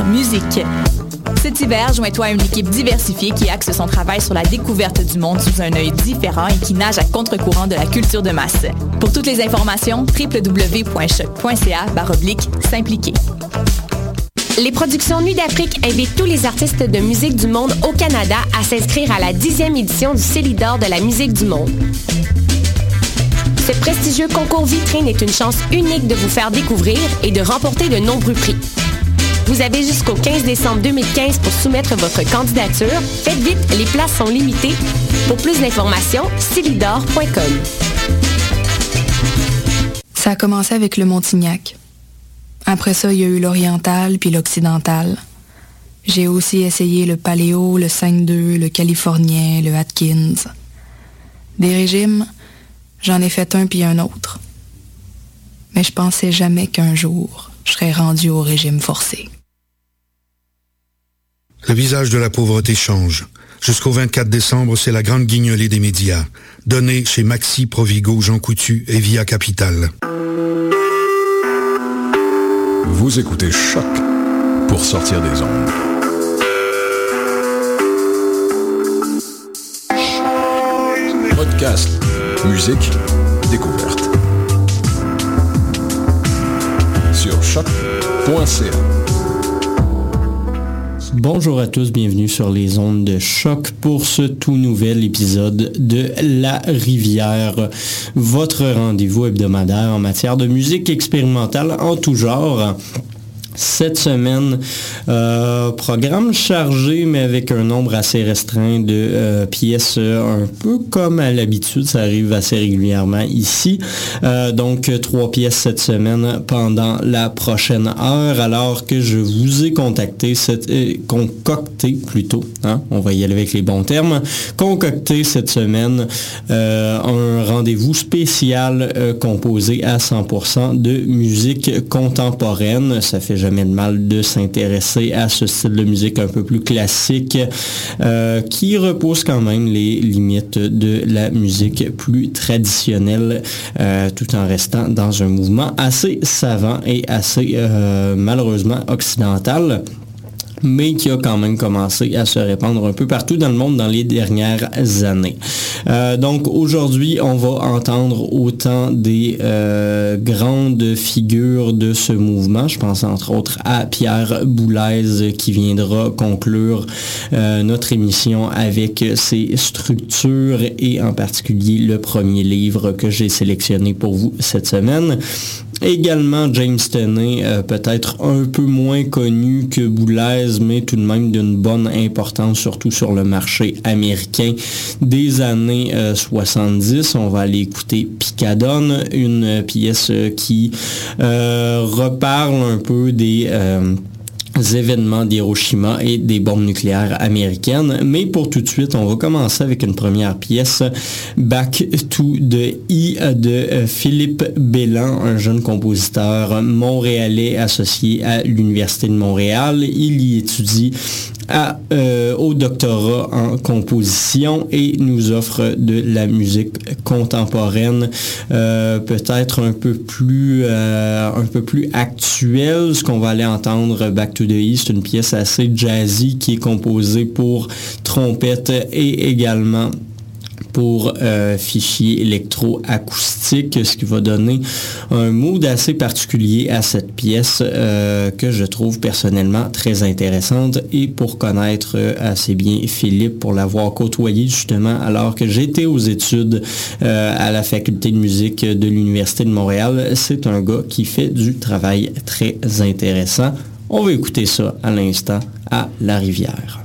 musique. Cet hiver, joins-toi à une équipe diversifiée qui axe son travail sur la découverte du monde sous un œil différent et qui nage à contre-courant de la culture de masse. Pour toutes les informations, www.choc.ca/s'impliquer. Les productions Nuit d'Afrique invitent tous les artistes de musique du monde au Canada à s'inscrire à la 10e édition du Célidor de la musique du monde. Ce prestigieux concours vitrine est une chance unique de vous faire découvrir et de remporter de nombreux prix. Vous avez jusqu'au 15 décembre 2015 pour soumettre votre candidature. Faites vite, les places sont limitées. Pour plus d'informations, célidor.com. Ça a commencé avec le Montignac. Après ça, il y a eu l'oriental puis l'occidental. J'ai aussi essayé le paléo, le 5-2, le californien, le Atkins. Des régimes, j'en ai fait un puis un autre. Mais je pensais jamais qu'un jour, je serais rendu au régime forcé. Le visage de la pauvreté change. Jusqu'au 24 décembre, c'est la grande guignolée des médias. Donnée chez Maxi, Provigo, Jean Coutu et Via Capital. Vous écoutez Choc pour sortir des ondes. Podcast, musique, découverte. Sur choc.ca. Bonjour à tous, bienvenue sur les ondes de Choc pour ce tout nouvel épisode de La Rivière, votre rendez-vous hebdomadaire en matière de musique expérimentale en tout genre. Cette semaine, programme chargé, mais avec un nombre assez restreint de pièces, un peu comme à l'habitude, ça arrive assez régulièrement ici. Donc, 3 pièces cette semaine pendant la prochaine heure, alors que je vous ai concocté plutôt, hein, on va y aller avec les bons termes, concocté cette semaine un rendez-vous spécial composé à 100% de musique contemporaine. Ça fait jamais de mal de s'intéresser à ce style de musique un peu plus classique qui repousse quand même les limites de la musique plus traditionnelle tout en restant dans un mouvement assez savant et assez malheureusement occidental, mais qui a quand même commencé à se répandre un peu partout dans le monde dans les dernières années. Donc aujourd'hui, on va entendre autant des grandes figures de ce mouvement. Je pense entre autres à Pierre Boulez qui viendra conclure notre émission avec ses structures et en particulier le premier livre que j'ai sélectionné pour vous cette semaine. Également James Tenney, peut-être un peu moins connu que Boulez, mais tout de même d'une bonne importance, surtout sur le marché américain des années 70. On va aller écouter Picadone, une pièce qui reparle un peu des événements d'Hiroshima et des bombes nucléaires américaines. Mais pour tout de suite, on va commencer avec une première pièce, Back to the E de Philippe Bélan, un jeune compositeur montréalais associé à l'Université de Montréal. Il y étudie au doctorat en composition et nous offre de la musique contemporaine peut-être un peu plus actuelle. Ce qu'on va aller entendre, Back to the E, c'est une pièce assez jazzy qui est composée pour trompette et également pour fichiers électroacoustiques, ce qui va donner un mood assez particulier à cette pièce que je trouve personnellement très intéressante. Et pour connaître assez bien Philippe, pour l'avoir côtoyé justement alors que j'étais aux études à la faculté de musique de l'Université de Montréal, c'est un gars qui fait du travail très intéressant. On va écouter ça à l'instant à La Rivière.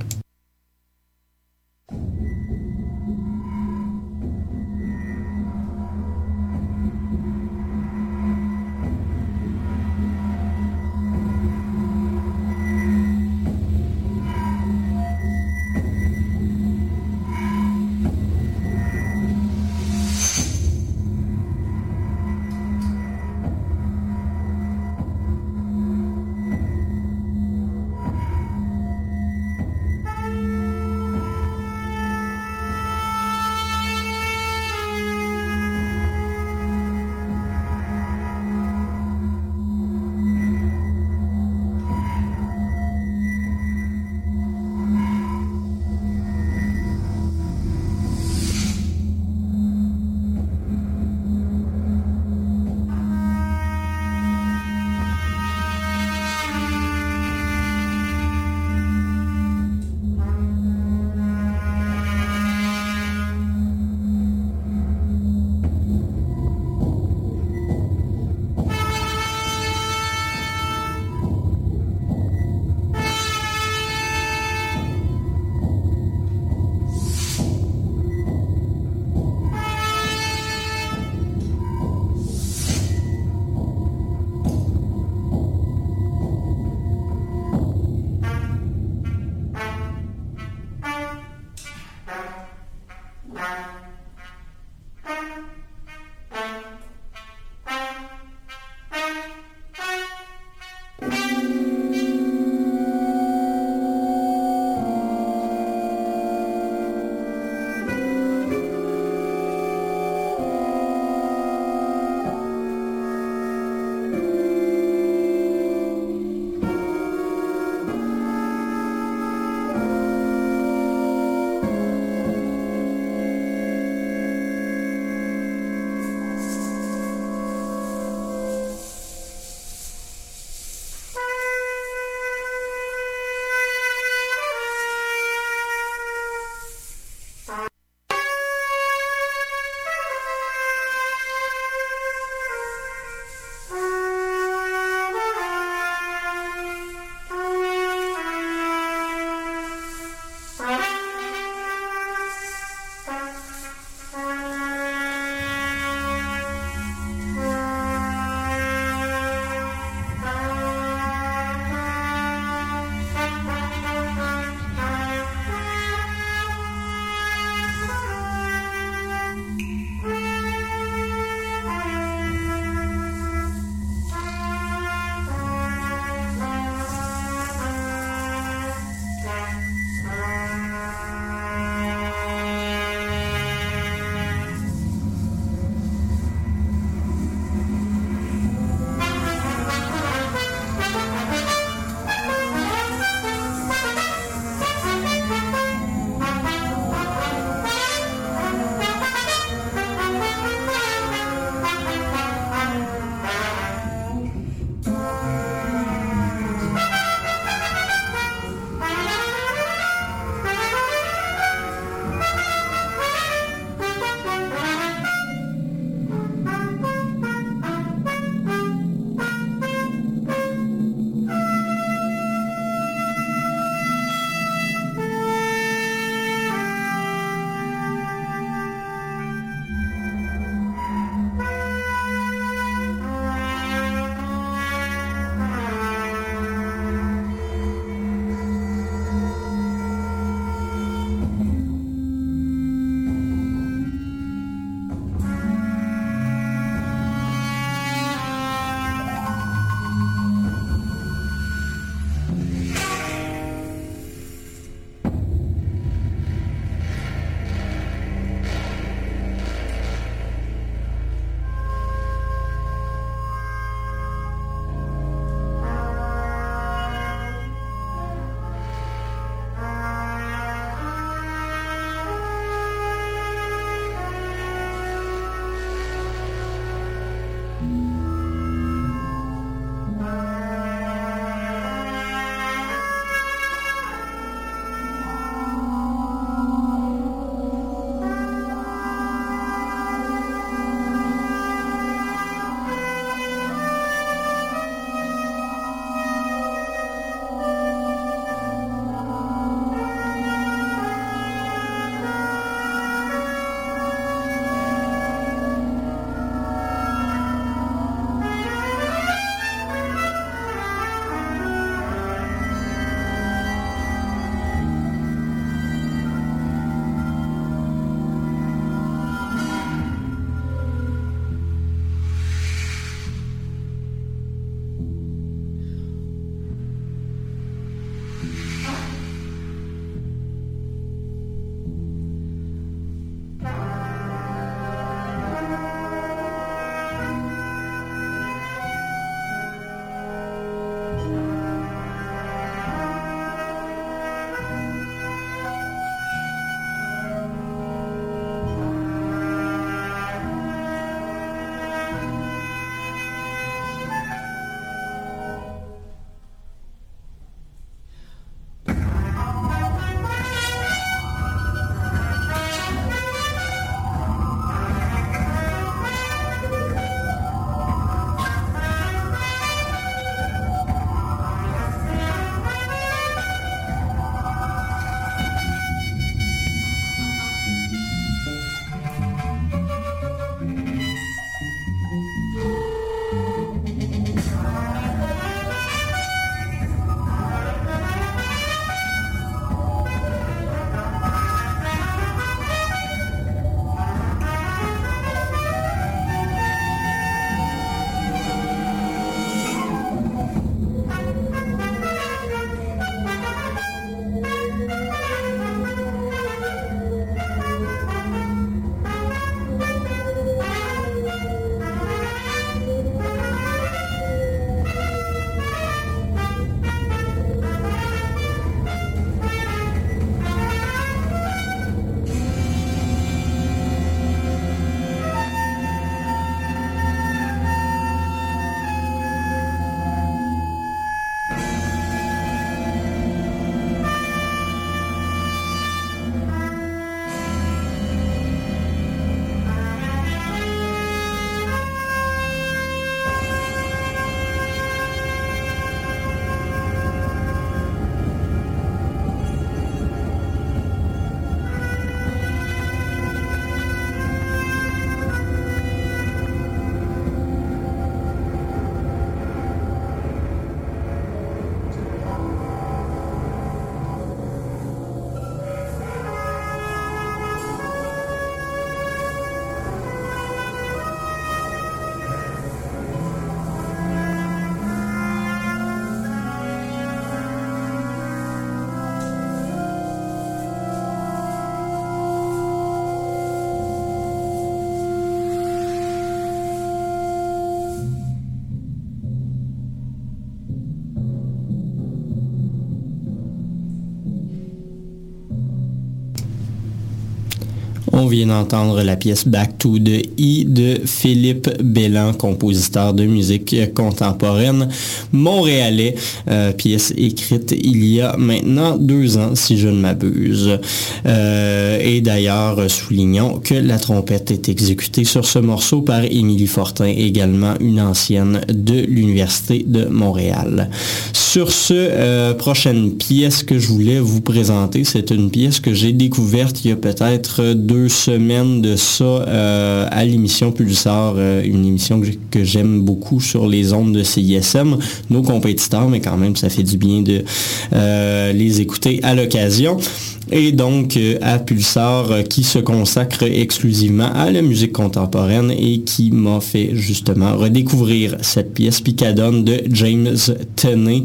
On vient d'entendre la pièce Back to the E de Philippe Belland, compositeur de musique contemporaine montréalais, pièce écrite il y a maintenant 2 ans, si je ne m'abuse. Et d'ailleurs, soulignons que la trompette est exécutée sur ce morceau par Émilie Fortin, également une ancienne de l'Université de Montréal. Sur ce, prochaine pièce que je voulais vous présenter, c'est une pièce que j'ai découverte il y a peut-être 2 semaines de ça à l'émission Pulsar, une émission que j'aime beaucoup sur les ondes de CISM, nos compétiteurs, mais quand même ça fait du bien de les écouter à l'occasion. Et donc à Pulsar qui se consacre exclusivement à la musique contemporaine et qui m'a fait justement redécouvrir cette pièce Picadone de James Tenney.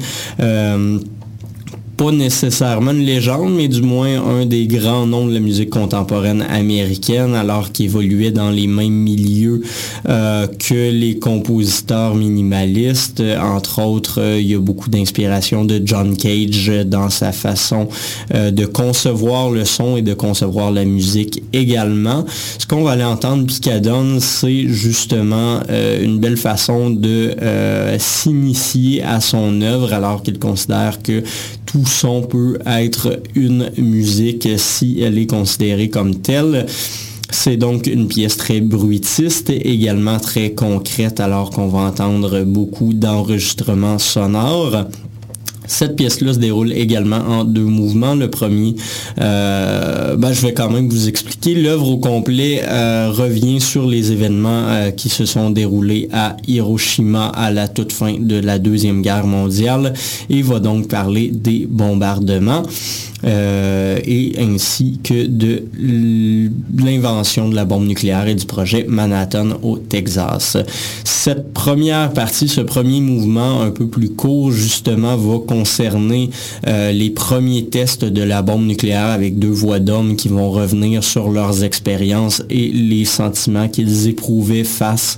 Pas nécessairement une légende, mais du moins un des grands noms de la musique contemporaine américaine, alors qu'il évoluait dans les mêmes milieux que les compositeurs minimalistes. Entre autres, il y a beaucoup d'inspiration de John Cage dans sa façon de concevoir le son et de concevoir la musique également. Ce qu'on va aller entendre, Picadone, c'est justement une belle façon de s'initier à son œuvre, alors qu'il considère que tout son peut être une musique si elle est considérée comme telle. C'est donc une pièce très bruitiste, également très concrète, alors qu'on va entendre beaucoup d'enregistrements sonores. Cette pièce-là se déroule également en 2 mouvements. Le premier, je vais quand même vous expliquer. L'œuvre au complet revient sur les événements qui se sont déroulés à Hiroshima à la toute fin de la Deuxième Guerre mondiale et va donc parler des bombardements. Et ainsi que de l'invention de la bombe nucléaire et du projet Manhattan au Texas. Cette première partie, ce premier mouvement un peu plus court, justement, va concerner les premiers tests de la bombe nucléaire avec 2 voix d'hommes qui vont revenir sur leurs expériences et les sentiments qu'ils éprouvaient face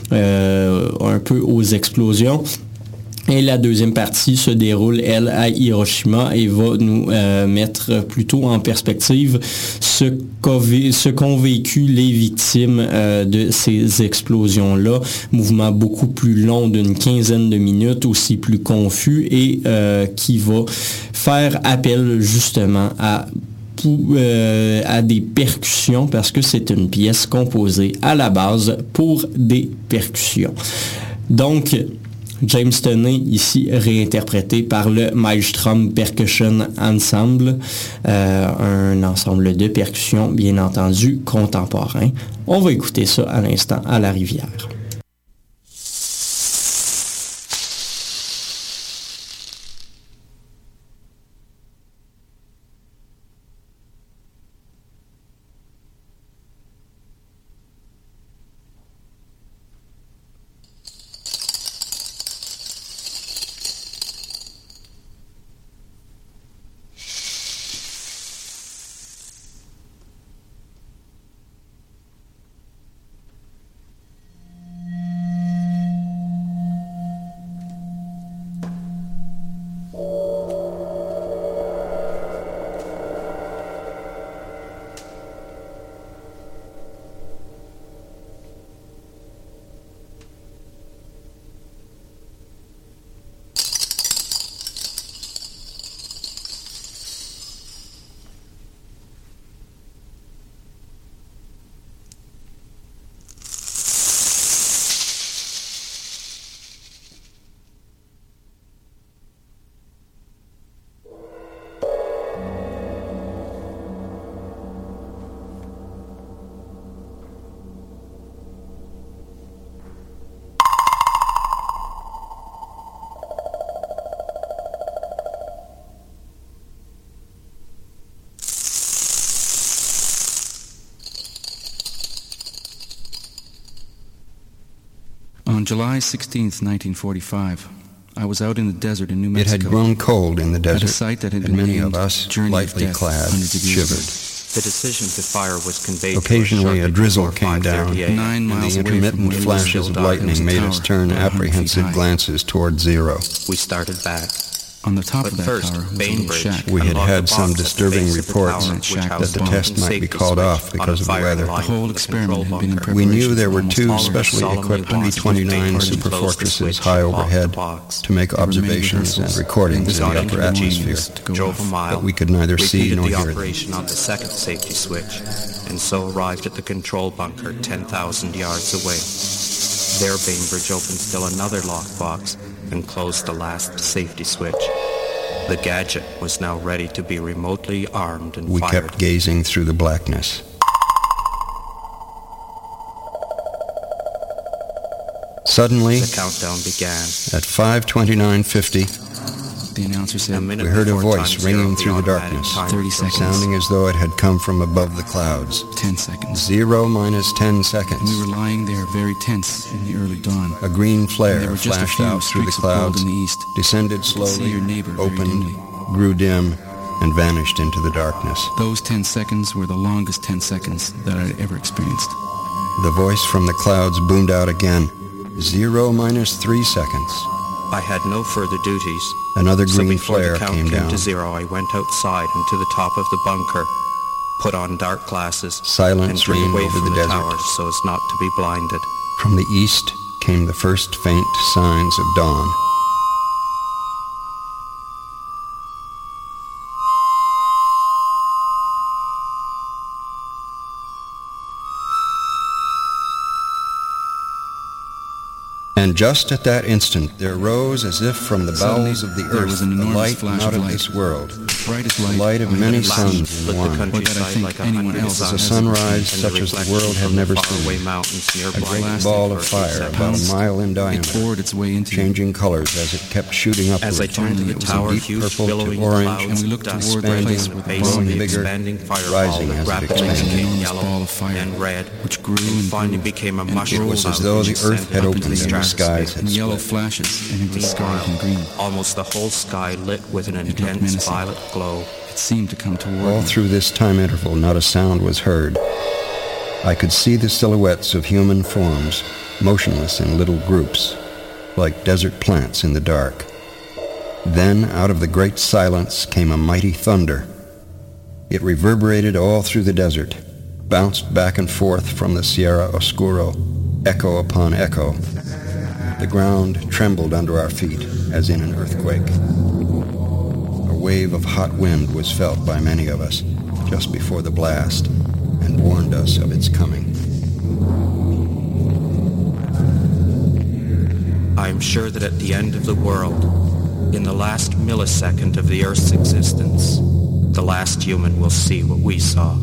un peu aux explosions. Et la deuxième partie se déroule, elle, à Hiroshima et va nous mettre plutôt en perspective ce qu'ont vécu les victimes de ces explosions-là. Mouvement beaucoup plus long d'une 15aine de minutes, aussi plus confus et qui va faire appel justement à des percussions parce que c'est une pièce composée à la base pour des percussions. Donc, James Tenney, ici réinterprété par le Maelstrom Percussion Ensemble, un ensemble de percussions, bien entendu, contemporain. On va écouter ça à l'instant à la Rivière. On July 16th, 1945, I was out in the desert in New Mexico. It had grown cold in the desert, at a site that had and been many named of us, Journey lightly of Death, clad, shivered. The decision to fire was conveyed Occasionally a drizzle came down, 9 and miles the away from intermittent where we flashes lived, of lightning made us turn about 100 feet apprehensive high. glances toward zero. We started back. On the top But of that first, tower was a little Bainbridge shack. We had unlocked had the some box at the disturbing base of the reports tower, which that housed the the test might be safety called switch off on because a of the fire weather. The line whole to the experiment control had been in bunker. We knew there were almost two all of us. specially solemnly equipped paused B-29 Bainbridge super closed the fortresses switch high and locked overhead the box. to make There were many observations and rehearsals, recordings and in the got upper into the atmosphere, jeans to go drove a off. mile, but we could neither see repeated nor the hear them. operation on the second safety switch, and so arrived at the control bunker 10,000 yards away. There, Bainbridge opened still another lockbox and closed the last safety switch. The gadget was now ready to be remotely armed and We fired. kept gazing through the blackness. Suddenly, The countdown began. at 5:29:50, The announcer A said, minute we heard a before voice time zero, ringing the through the automatic darkness, timer 30 was seconds. sounding as though it had come from above the clouds. 10 seconds. 0 minus 10 And we seconds. were lying there very tense in the early dawn. A green And there flare were just a flashed few out through the streaks of gold clouds, in the east. descended You could see slowly, your neighbor very opened, dimly. grew dim, and vanished into the darkness. Those 10 seconds were the longest 10 seconds that I'd ever experienced. The voice from the clouds boomed out again. 0 minus 3 seconds. I had no further duties. Another So green before flare the count came down. to zero, I went outside and to the top of the bunker, put on dark glasses, Silence and turned reigned away over from the the desert. towers so as not to be blinded. From the east came the first faint signs of dawn. And just at that instant, there rose as if from the bowels of the There earth was an a enormous light flash out of of light. this world, Brightest the light, light of I had many ever suns seen. in Lit the one, Or that I countryside think like a anyone hundred else a has suns, sunrise and such the as the reflection world had from never the faraway seen. mountains A nearby great blasted ball of for fire 8 about a seconds. mile in It diameter, bored its way into changing colors as it kept shooting upward. As I turned to Finally, the it was a tower, deep huge purple to billowing orange, clouds and we of looked dust toward the spread place from where the the base of growing the bigger, expanding fireball rising that as it rapidly expanded. became Enormous yellow ball of fire, and red, which grew and and finally grew, became a and mushroom It was cloud as though which the earth ascended had up opened into and the skies stratosphere. had and yellow split. flashes, and it was scarlet and green. Almost the whole sky lit with an looked intense menacing. violet glow. It seemed to come toward All me. through this time interval, not a sound was heard. I could see the silhouettes of human forms, motionless in little groups, like desert plants in the dark. Then, out of the great silence, came a mighty thunder. It reverberated all through the desert, bounced back and forth from the Sierra Oscuro, echo upon echo. The ground trembled under our feet, as in an earthquake. A wave of hot wind was felt by many of us just before the blast, and warned us of its coming. I am sure that at the end of the world, in the last millisecond of the Earth's existence, the last human will see what we saw.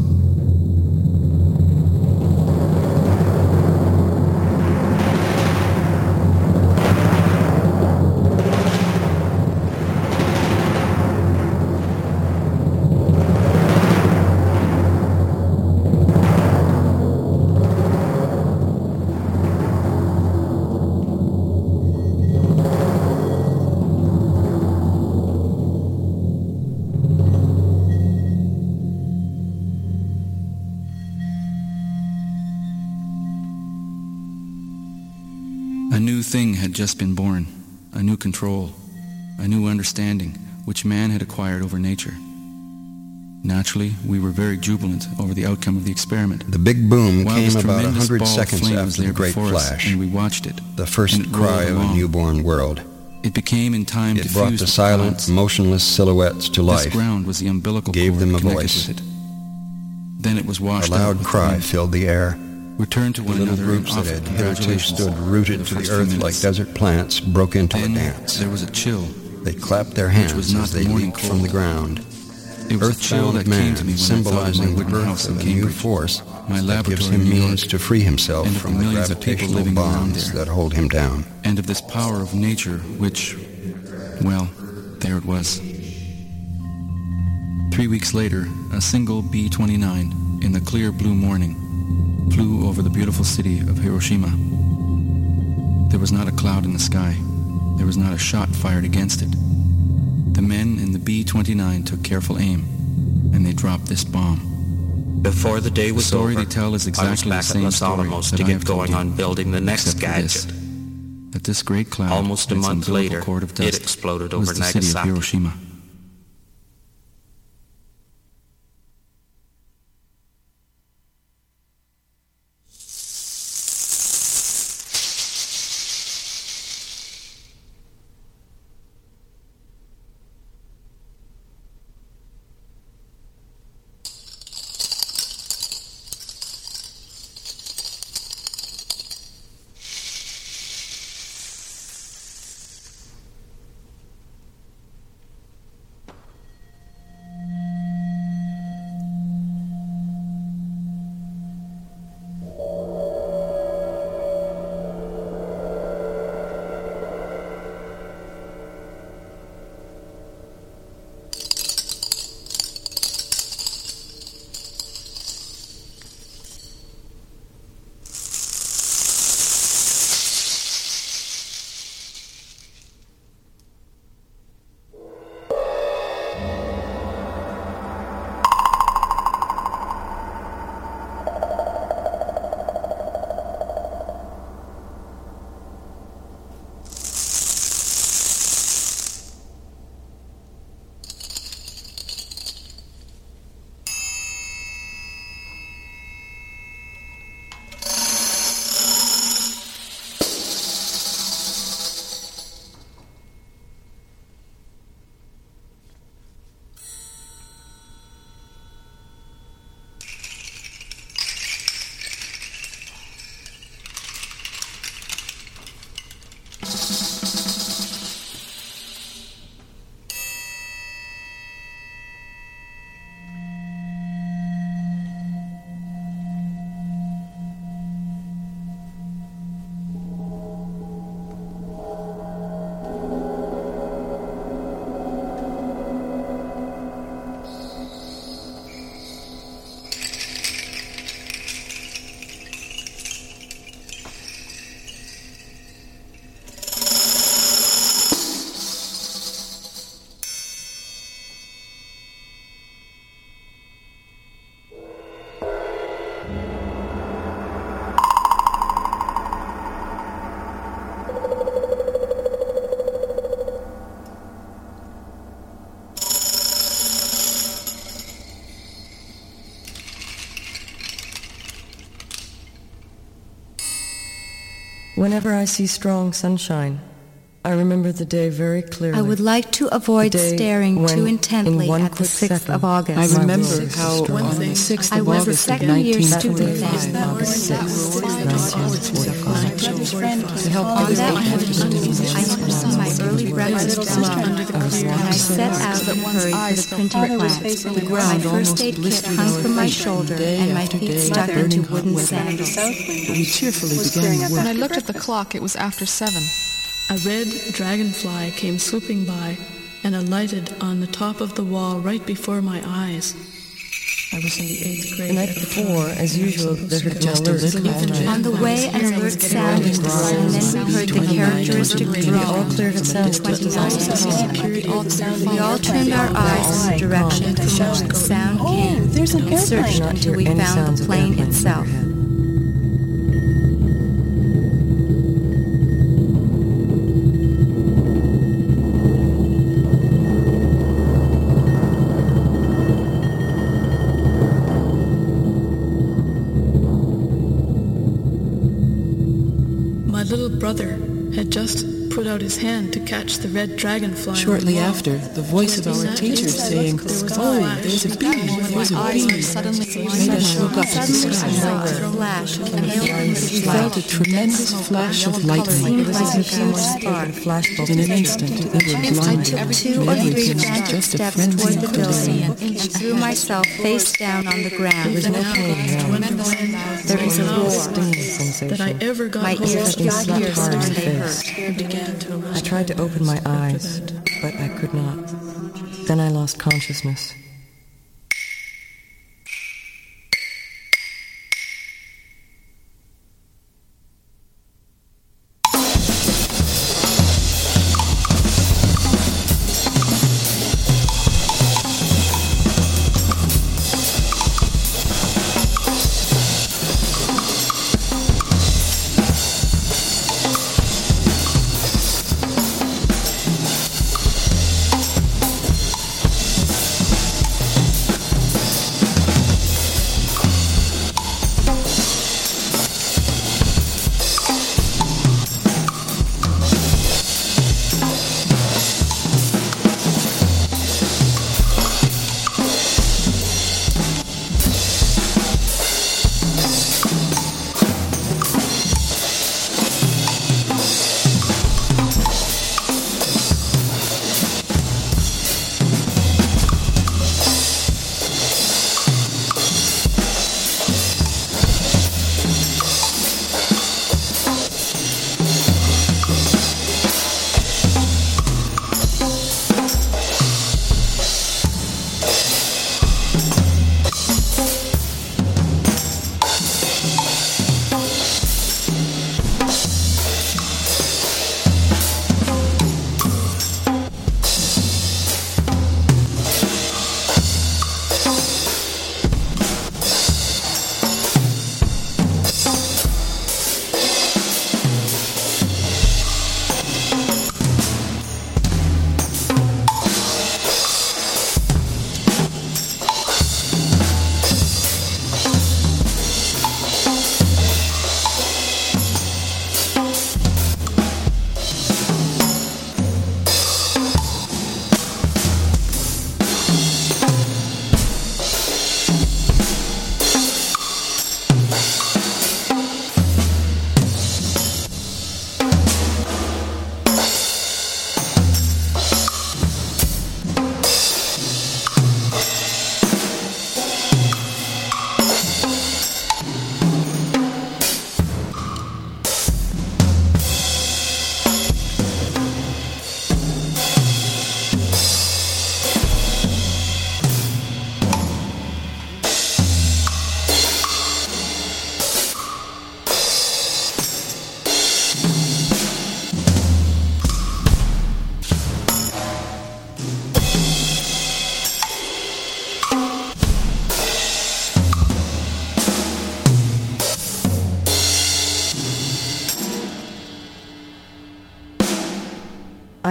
A new thing had just been born, a new control, a new understanding which man had acquired over nature. Naturally, we were very jubilant over the outcome of the experiment. The big boom While came this about tremendous 100 ball of seconds flame was after the there great before us, flash, and we watched it, the first and it cry rolled of a along. newborn world. It became in time It diffused brought the with silent, clouds. motionless silhouettes to This life. ground was the umbilical gave cord them a connected voice. with it. Then it was A washed out loud with the cry wind. filled the air. We turned to The one little another and groups that offered had hitherto congratulations stood for rooted the to the first few earth like minutes. desert plants broke into Then a dance. there was a chill. They clapped their was hands not as they morning leaped from the cold. ground. It was a chill Earthbound that came to me man, when I thought of my symbolizing the wooden birth house in of a new Cambridge, force my that laboratory gives him in New York, means to free himself and of the from the millions of people gravitational living around bonds there. that hold him down. and of this power of nature which, well, there it was. 3 weeks later, a single B-29, in the clear blue morning, flew over the beautiful city of Hiroshima. There was not a cloud in the sky. There was not a shot fired against it. The men in the B-29 took careful aim, and they dropped this bomb. Before the day The was story over, they tell is I was exactly the back at same Los story Alamos that to I get have told going you, on building the next except for this. gadget. that this great cloud, Almost a its month umbilical later, cord of it dust, exploded was over the city of Nagasaki. Hiroshima. Whenever I see strong sunshine, I remember the day very clearly. I would like to avoid staring too intently at the 6th of August. I remember how on the 6th of August of 1945, August 6th, 1945, to help on that afternoon, I saw my early breakfast under the clear, and I set out to hurry to the printing plant. My first aid kit hung from my shoulder, and my feet stuck into wooden sandals. But we cheerfully began work. When I looked at the clock, it was after 7. A red dragonfly came swooping by and alighted on the top of the wall right before my eyes. I was in the 8th grade. The night before, as usual, there had been alerts. On the way, an alert sounded, and then we heard the characteristic drone. All cleared at sound. We all turned our eyes in the direction from which the sound came, and searched until we found the plane itself. My little brother had just put out his hand to catch the red dragonfly. Shortly after, the voice of our teacher saying, "Oh, there's a bee, there's a bee," made us look up at the sky. We felt a tremendous flash of lightning. It was a huge spark. In an instant, we were blind. I took 2 or 3 frantic steps toward the building and threw myself face down on the ground. There was no pain. There was a roar. That I ever got my ears pierced and they hurt. I tried to open my eyes, but I could not. Then I lost consciousness.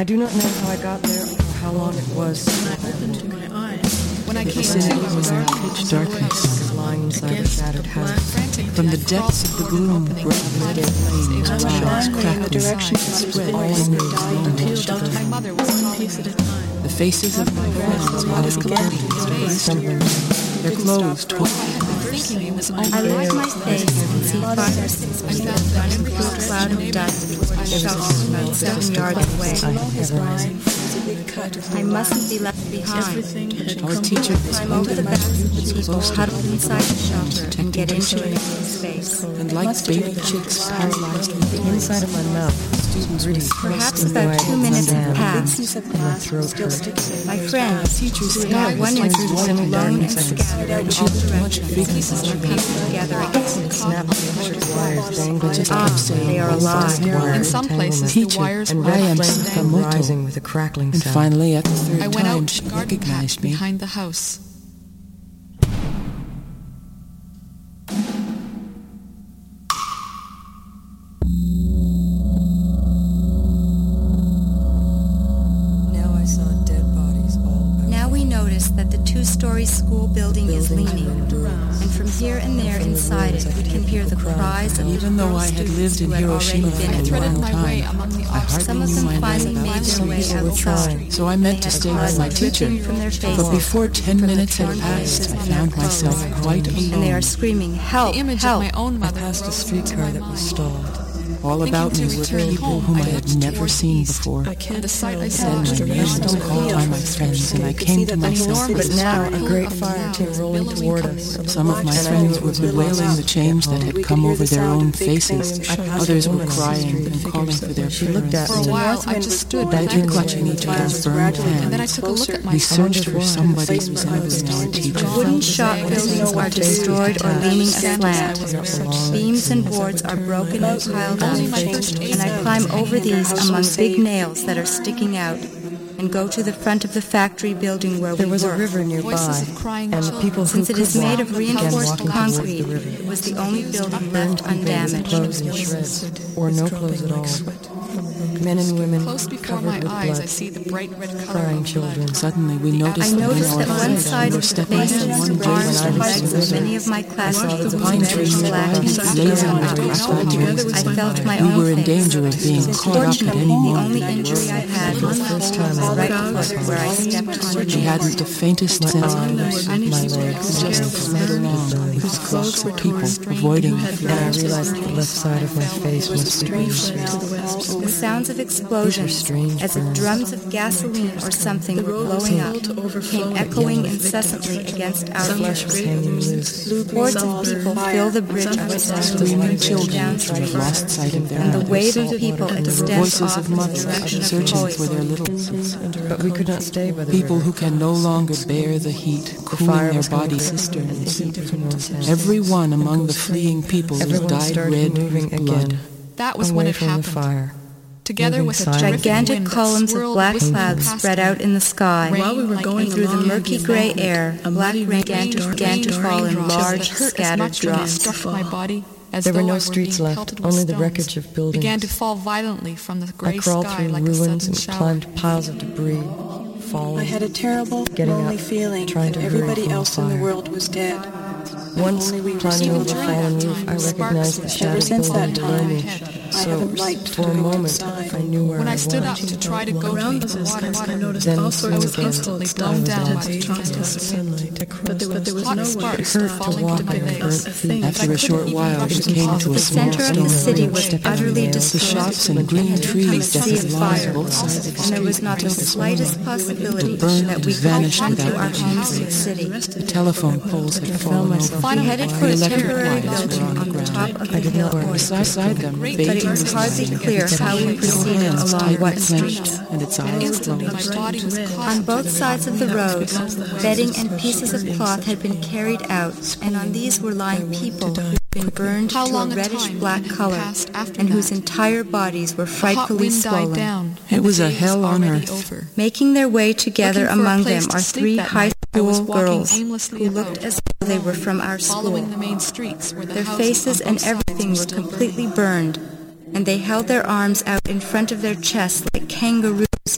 I do not know how I got there or how long it was. When I came to, it was pitch darkness, lying inside a shattered house. From the depths of the gloom, bright red flames rose, crackling, spread all over my mother was one piece at a time. The faces of my friends were like their clothes torn. I lift my face and see 5 or 6 people running through a cloud of dust toward a shelter about 7 yards away. I mustn't be left behind. Our teacher Climb over the backs of the people huddled inside the shelter and get into the space. And like baby chicks paralyzed with The inside of my mouth, students really Perhaps about 2 minutes have passed. and my throat hurt. My friends, who had one instant alone and scattered out all directions, are coming together again. Snap electric wires dangling. They are alive. In some places, the wires and were red am flame Sakamoto. rising with a crackling And sound. finally, at the third I went time, out she to the garden patch recognized me. behind the house. Now I saw dead bodies all over. Now we notice that the 2-story school building is leaning, and from here and there inside it we can hear the cries of Even though I had lived in Hiroshima for a Threaded long my way time, among the I hardly Some of knew them my finally made whereabouts. their way outside. So I meant to stay with my teacher. But before 10 minutes had passed, I found myself quite alone. And they are screaming, "Help! The image Help!" of my own I mother passed a streetcar that was stalled. All about me were people whom I had never seen before. The sight I saw Then my name was called by my friends, and I came to myself. But now a great fire came rolling toward us. Some of my friends were bewailing the change that had come over their own faces. Others were crying and calling for their parents. For a while, I just stood Badly clutching each other's burned and then I hands, took a look at we myself. searched for somebody resembling our teacher. Wooden shop buildings are destroyed or leaning aslant. Beams and boards are broken and piled up, and I climb over these among big nails that are sticking out and go to the front of the factory building where There we was a work. river nearby, and the people who Since it is could made walk of began reinforced walking towards concrete, the river. it was the only building Burned left people with clothes in undamaged. shreds, or no clothes at all. Men and women Close before covered my with eyes, I blood, see the bright red color crying of blood. children. Suddenly, we noticed I that noticed that our one friends side were of the stepping faces, from one arms, base and to legs of another. many of my classmates The was pine very trees black and blazing with scarred. crackling. I felt my We own were in face. danger of being caught up at Fortunately, any the moment. only injury I had was the First time hole I in my right foot where I stepped on a She nail. hadn't the faintest sense of place. my legs, Just slid along with clumps of people avoiding her. and I realized the left side of my face must be The sounds of explosions, strange as if burns. drums of gasoline or something were blowing up, came echoing incessantly against our flesh was ears. hanging loose. Hordes of people fill the bridge of Screaming children down who had lost sight of their and the wave mothers. of people extends Voices off of in the mothers direction of searching for Poison. their little ones. But we could not stay by the People river. who can no longer bear the heat, The cooling fire their was coming body quick, and the cisterns. heat was more intense. Every one among the fleeing people was Everyone dyed started red moving with blood. again. That was away when it from the happened. fire. Together moving with a silently. terrific Gigantic wind that columns of swirled black whistling clouds past spread me. out in the sky. While we were going And through the along murky the gray embankment, air, a black muddy rain rain began to fall in raindrops large, that hurt as scattered much when they drops. struck my body as There were though no I were streets being left, pelted with only the stones, wreckage of buildings. began to fall violently from the I gray crawled sky through like a ruins sudden and shower. climbed piles of debris, falling, I had a terrible, getting lonely up, feeling trying that to hurry everybody from the else in the fire. world was dead. Once, Only we were climbing still over the alive. fallen roof, I recognized the Ever shattered since building that below time, me. I So, haven't liked for to a go moment, outside. I knew where When I I stood up was. to try to go Around to us, the water, I noticed Then all soon sorts of again, instantly I dumbed was down dead. by the But there was hot no sparks It hurt to falling walk to my on face. burnt feet. After a short while, we came to a The small center of the stone city bridge. was utterly The destroyed. shops and green trees Sea dotted of along fire, both sides of the and there was street. not the slightest possibility burned that we and could vanished come to without our much homes in the trace. city. The telephone poles had fallen over. We headed for The a electric temporary wires were building on the on the ground. top of the hill. Beside them, But it bathing was was hardly lying. clear Its how we little proceeded hands along tightly what clenched, street. and its eyes Instantly, closed. my body was caught On both sides of the road, bedding and pieces of cloth had been carried out, and on these were lying people who had been burned How to a long a reddish-black time color, passed after and whose that? entire bodies were The hot frightfully wind died swollen. down. It was a The day hell on already earth. over. Making their way together Looking for a among place them to are sleep 3 that high night, I was school walking girls aimlessly who about, looked as though they were from our school. following the main streets where the Their houses faces on and both sides everything were were still completely burning. burned, and they held their arms out in front of their chests like kangaroos,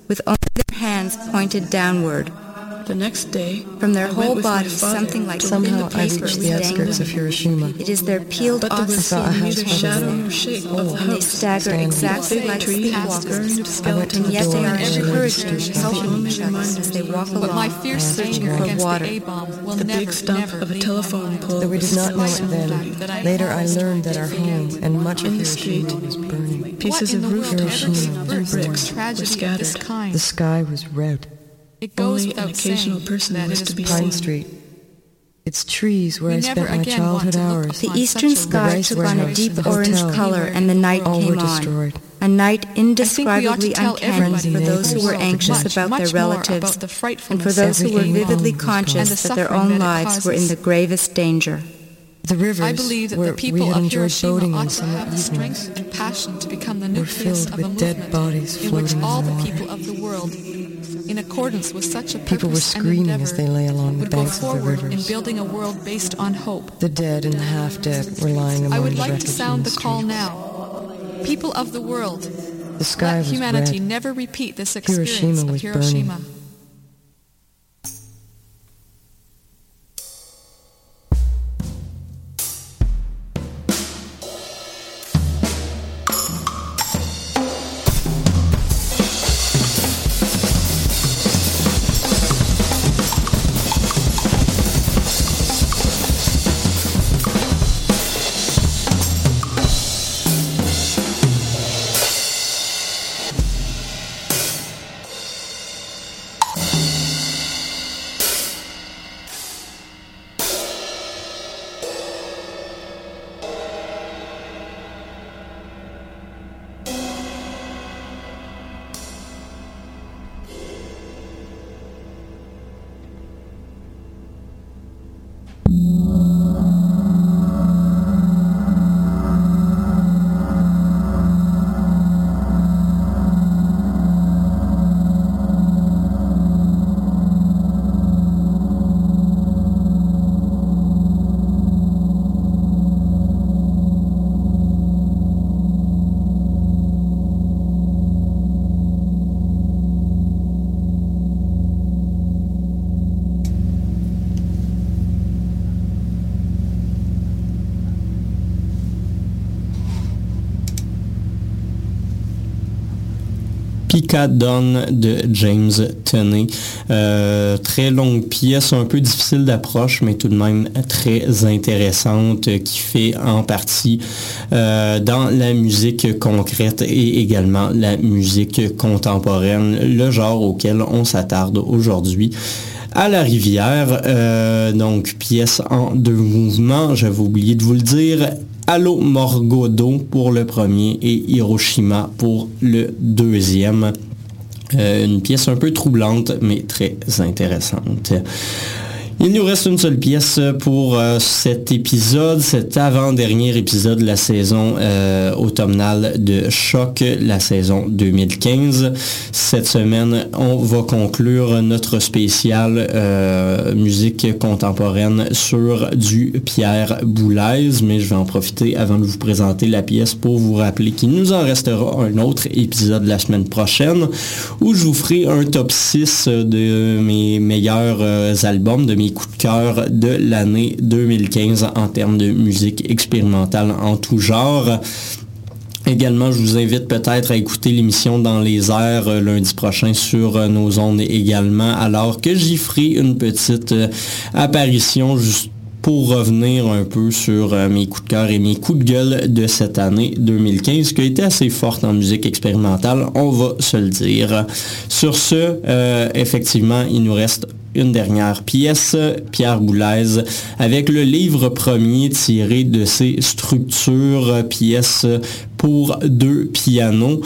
with only their hands pointed downward. The next day, from their I whole went with my bodies, father. something like Somehow I paper reached the outskirts of Hiroshima. It is their peeled But there off was skin neither shadow nor shape of the and they house. stagger exactly like Tree past sleepwalkers. burned skeleton And yet they are every encouraging street, and helping only each other reminders as they walk But my along, fierce searching anger for against water. the A-bomb will The never, big stump never of a leave telephone my mind. pole. Though we did not know it Despite then, that I later I almost learned that our forget. home and much of In the Hiroshima street, was burning. pieces What in of the roof world ever Hiroshima gave was birth to a bricks were tragedy of this scattered. kind? The sky was red. It goes Only an without occasional saying person that was it to is be Pine seen. Street. Its trees where We I never spent my again childhood want to look hours. The upon eastern such a sky rice took on a warehouse, deep the orange hotel. color and the night All came were on. destroyed. A night I think we ought to indescribably tell uncanny everybody for in those who were the anxious much, about much their more relatives about the and for frightfulness those who were Everything vividly was conscious gone. that their And the own suffering lives that it were in causes. the gravest danger. The rivers I believe that where the people we had of enjoyed Hiroshima boating ought on to summer have the evenings strength and passion to become the were nucleus filled of a with dead movement bodies in which floating all in the the water. people of the world, in accordance with such a People were purpose and screaming endeavor, as they lay along the would go banks of the forward in rivers. building a world based on hope. The dead and the half-dead were lying among I would the like wreckage to sound in the the call street. now. People of the world, The sky let was humanity red. never repeat this experience Hiroshima of was Hiroshima. burning. Picadon de James Tenney. Très longue pièce, un peu difficile d'approche, mais tout de même très intéressante, qui fait en partie dans la musique concrète et également la musique contemporaine, le genre auquel on s'attarde aujourd'hui. À la rivière, donc pièce en 2 mouvements, j'avais oublié de vous le dire. Allo Morgodo pour le premier et Hiroshima pour le deuxième. Une pièce un peu troublante, mais très intéressante. Il nous reste une seule pièce pour cet épisode, cet avant-dernier épisode de la saison automnale de Choc, la saison 2015. Cette semaine, on va conclure notre spécial musique contemporaine sur du Pierre Boulez, mais je vais en profiter avant de vous présenter la pièce pour vous rappeler qu'il nous en restera un autre épisode la semaine prochaine où je vous ferai un top 6 de mes meilleurs albums, de mes coups de cœur de l'année 2015 en termes de musique expérimentale en tout genre. Également, je vous invite peut-être à écouter l'émission Dans les airs lundi prochain sur nos ondes également, alors que j'y ferai une petite apparition juste pour revenir un peu sur mes coups de cœur et mes coups de gueule de cette année 2015, qui a été assez forte en musique expérimentale, on va se le dire. Sur ce, effectivement, il nous reste une dernière pièce, Pierre Boulez, avec le livre premier tiré de ses structures, pièces pour 2 pianos.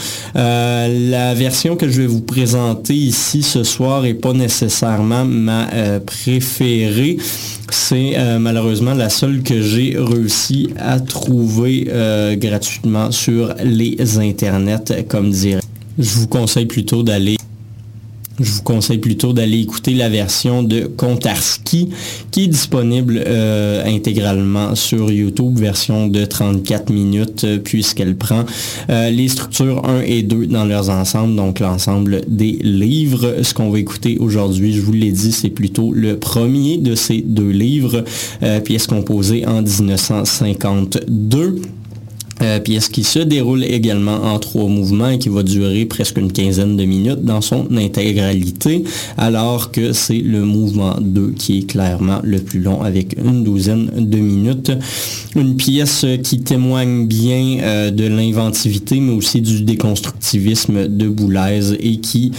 La version que je vais vous présenter ici ce soir n'est pas nécessairement ma préférée. C'est malheureusement la seule que j'ai réussi à trouver gratuitement sur les internets, comme dirait. Je vous conseille plutôt d'aller je vous conseille plutôt d'aller écouter la version de Kontarski qui est disponible intégralement sur YouTube, version de 34 minutes puisqu'elle prend les structures 1 et 2 dans leurs ensembles, donc l'ensemble des livres. Ce qu'on va écouter aujourd'hui, je vous l'ai dit, c'est plutôt le premier de ces 2 livres, pièce composée en 1952. Pièce qui se déroule également en 3 mouvements et qui va durer presque une quinzaine de minutes dans son intégralité, alors que c'est le mouvement 2 qui est clairement le plus long avec une douzaine de minutes. Une pièce qui témoigne bien de l'inventivité, mais aussi du déconstructivisme de Boulez et qui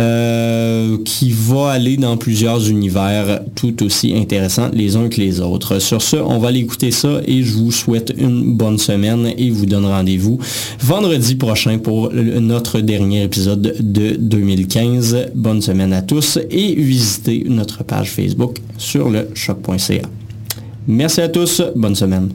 va aller dans plusieurs univers tout aussi intéressants les uns que les autres. Sur ce, on va aller écouter ça et je vous souhaite une bonne semaine et vous donne rendez-vous vendredi prochain pour notre dernier épisode de 2015. Bonne semaine à tous et visitez notre page Facebook sur le choc.ca. Merci à tous, bonne semaine.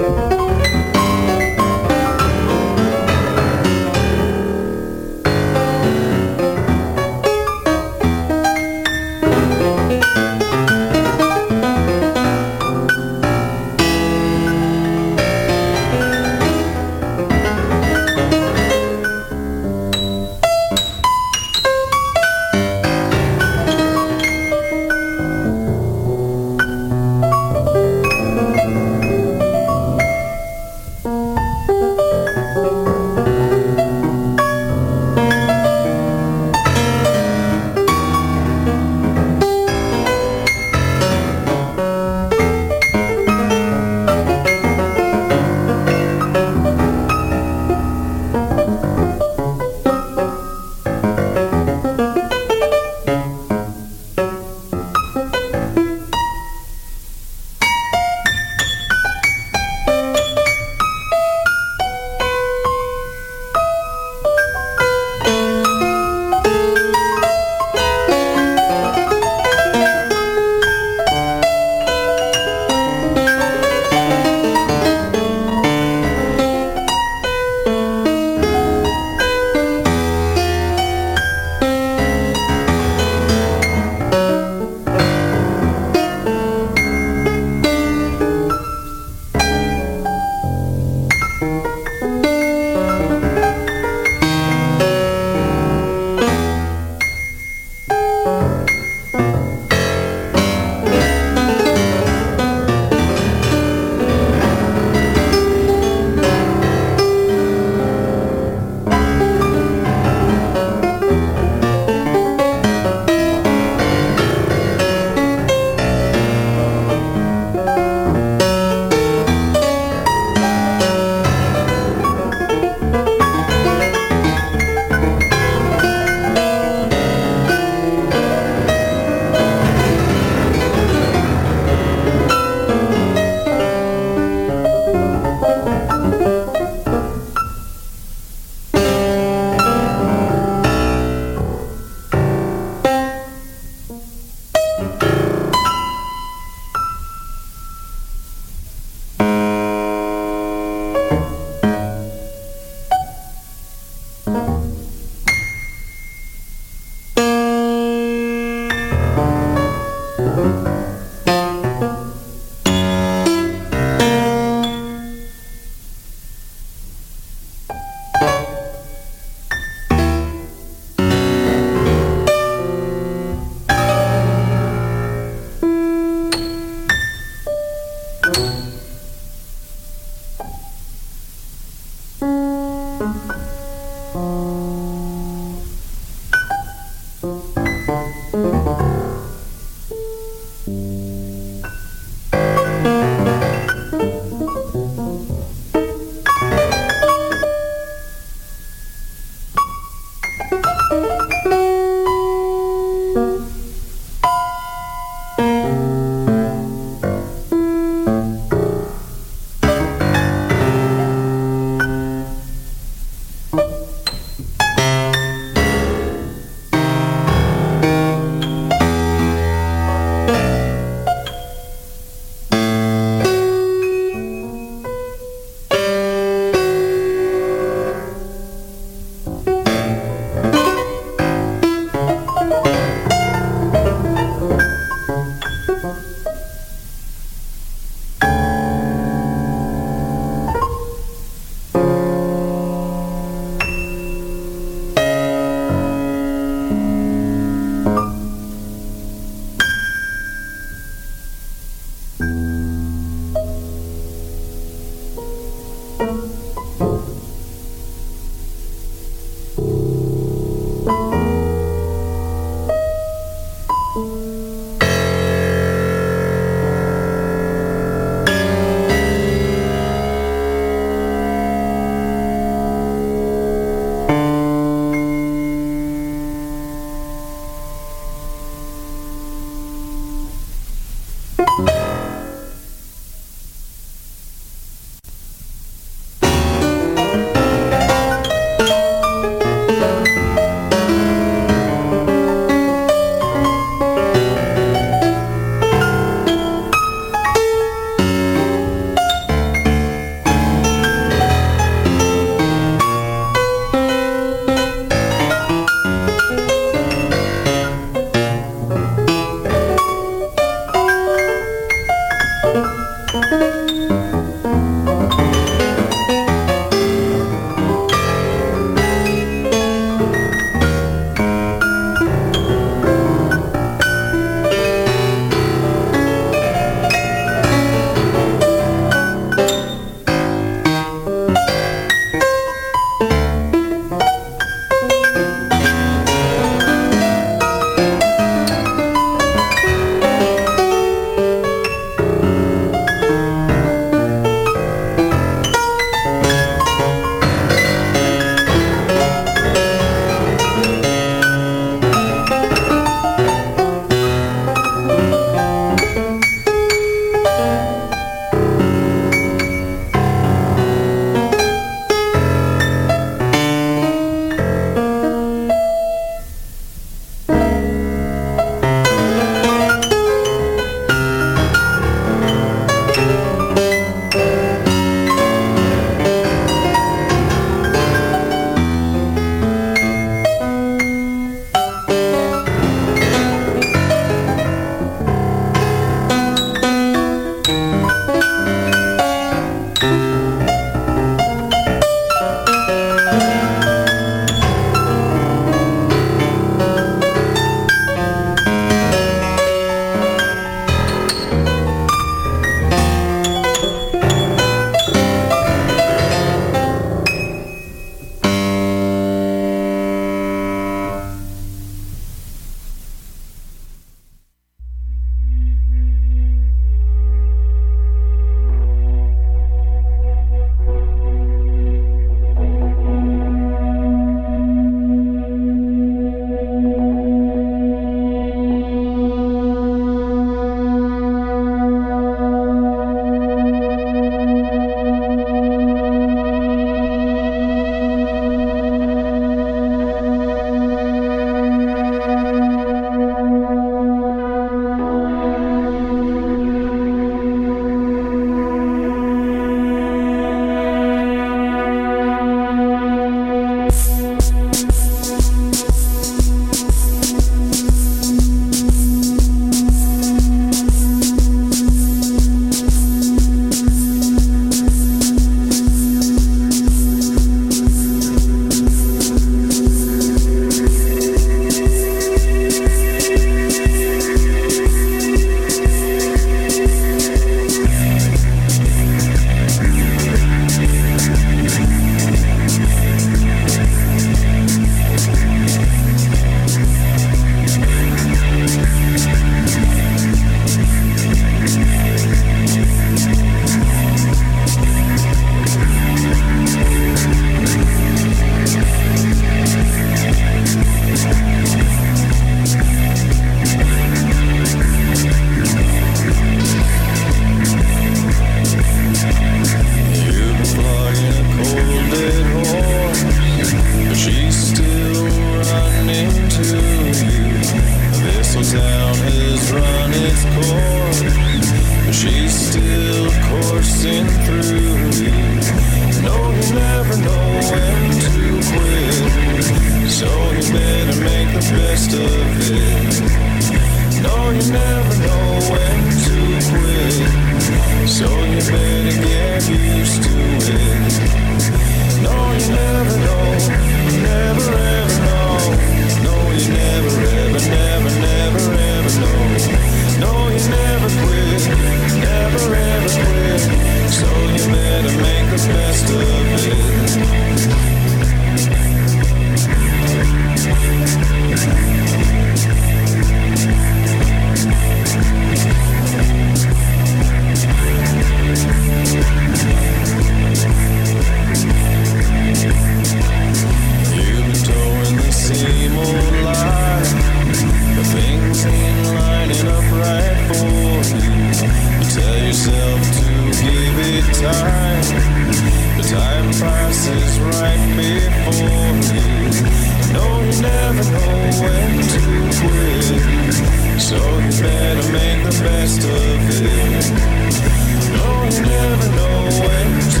The time passes right before you. No, you never know when to quit, so you better make the best of it. No, you never know when to